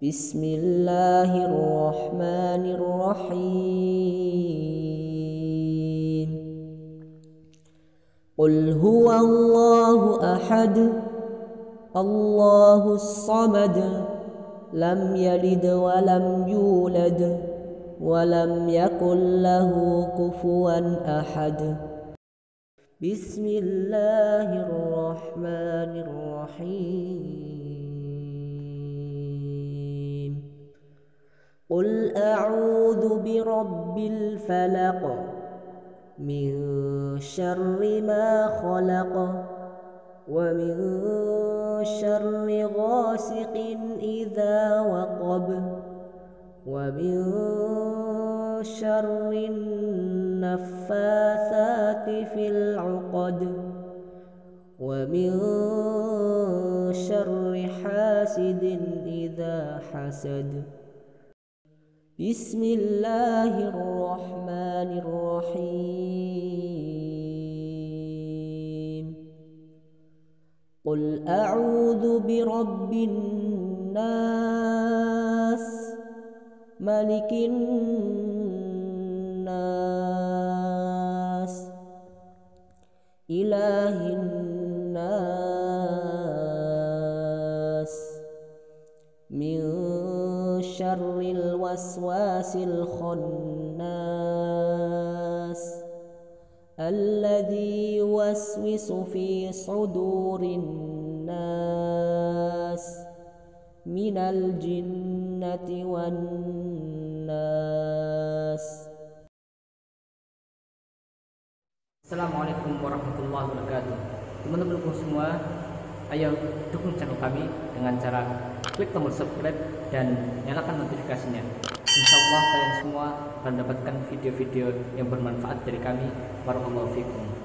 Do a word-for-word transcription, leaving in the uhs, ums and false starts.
Bismillahirrahmanirrahim. Qul huwallahu ahad, Allahus samad, lam yalid wa lam yulad wa lam yakul lahu kufuwan ahad. Bismillahirrahmanirrahim. Qul a'udzu birabbil falaq, min syarri ma khalaq, wa min syarri ghasiqin idza waqab, wa min syarri naffatsati fil 'uqad, wa min syarri hasidin idza hasad. Bismillahirrahmanirrahim. Qul a'udzu birabbin nas, malikin nas, ilahin nas, min syarril waswasil khannas, alladzi yuwaswisu fi sudurin nas, minal jinnati wan nas. Assalamualaikum warahmatullahi wabarakatuh. Teman-temanku semua, ayo dukung channel kami dengan cara klik tombol subscribe dan nyalakan notifikasinya. Insya Allah kalian semua akan mendapatkan video-video yang bermanfaat dari kami. Barakallahu fikum.